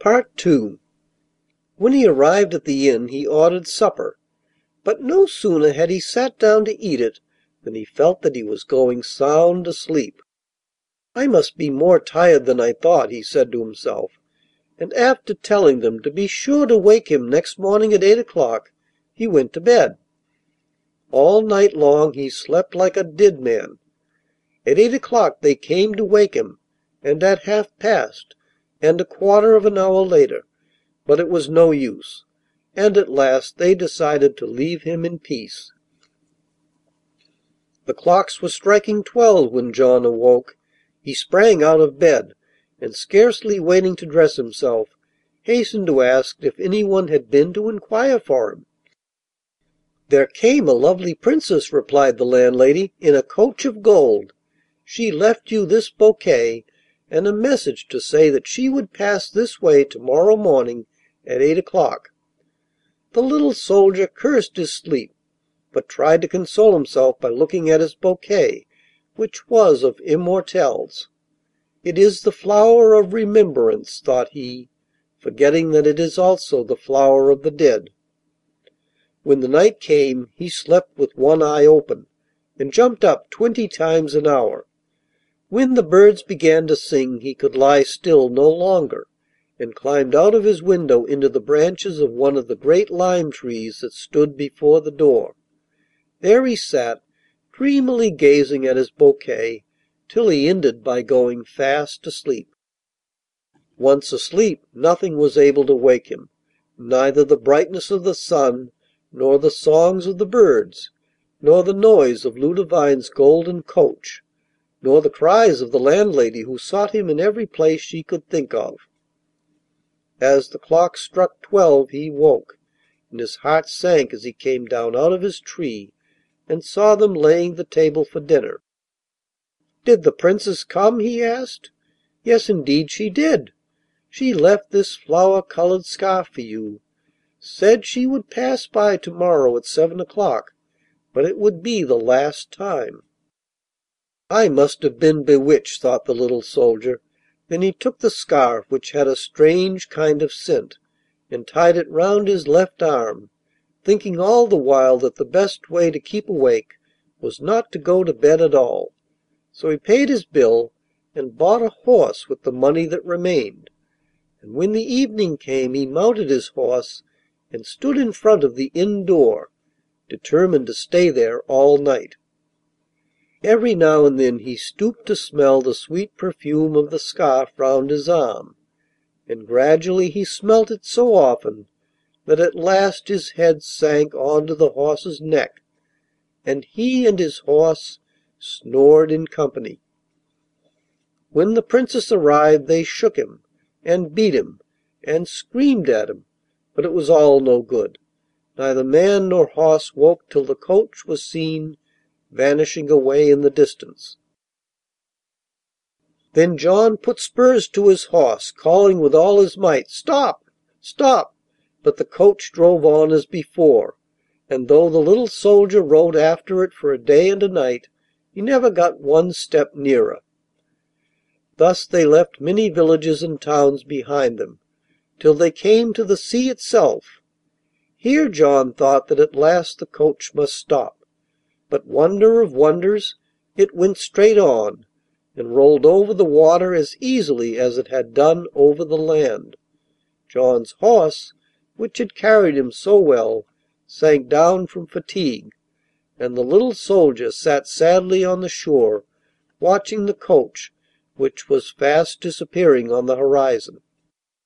II When he arrived at the inn he ordered supper, but no sooner had he sat down to eat it than he felt that he was going sound asleep. "I must be more tired than I thought," he said to himself, and after telling them to be sure to wake him next morning at 8 o'clock, he went to bed. All night long he slept like a dead man. At 8 o'clock they came to wake him, and at half past, and a quarter of an hour later, but it was no use, and at last they decided to leave him in peace. The clocks were striking 12 when John awoke. He sprang out of bed, and scarcely waiting to dress himself, hastened to ask if any one had been to inquire for him. "There came a lovely princess," replied the landlady, "in a coach of gold. She left you this bouquet and a message to say that she would pass this way to morrow morning at 8 o'clock." The little soldier cursed his sleep, but tried to console himself by looking at his bouquet, which was of immortelles. "It is the flower of remembrance," thought he, forgetting that it is also the flower of the dead. When the night came he slept with one eye open, and jumped up 20 times an hour. When the birds began to sing he could lie still no longer, and climbed out of his window into the branches of one of the great lime trees that stood before the door. There he sat, dreamily gazing at his bouquet, till he ended by going fast asleep. Once asleep, nothing was able to wake him, neither the brightness of the sun, nor the songs of the birds, nor the noise of Ludovine's golden coach, nor the cries of the landlady who sought him in every place she could think of. As the clock struck 12 he woke, and his heart sank as he came down out of his tree and saw them laying the table for dinner. "Did the Princess come?" he asked. "Yes, indeed she did. She left this flower-coloured scarf for you. Said she would pass by to morrow at 7 o'clock, but it would be the last time." "I must have been bewitched," thought the little soldier. Then he took the scarf, which had a strange kind of scent, and tied it round his left arm, thinking all the while that the best way to keep awake was not to go to bed at all. So he paid his bill and bought a horse with the money that remained, and when the evening came he mounted his horse and stood in front of the inn door, determined to stay there all night. Every now and then he stooped to smell the sweet perfume of the scarf round his arm, and gradually he smelt it so often that at last his head sank on to the horse's neck, and he and his horse snored in company. When the Princess arrived they shook him, and beat him, and screamed at him, but it was all no good. Neither man nor horse woke till the coach was seen vanishing away in the distance. Then John put spurs to his horse, calling with all his might, "Stop! Stop!" but the coach drove on as before, and though the little soldier rode after it for a day and a night, he never got one step nearer. Thus they left many villages and towns behind them, till they came to the sea itself. Here John thought that at last the coach must stop, but wonder of wonders, it went straight on, and rolled over the water as easily as it had done over the land. John's horse, which had carried him so well, sank down from fatigue, and the little soldier sat sadly on the shore, watching the coach, which was fast disappearing on the horizon.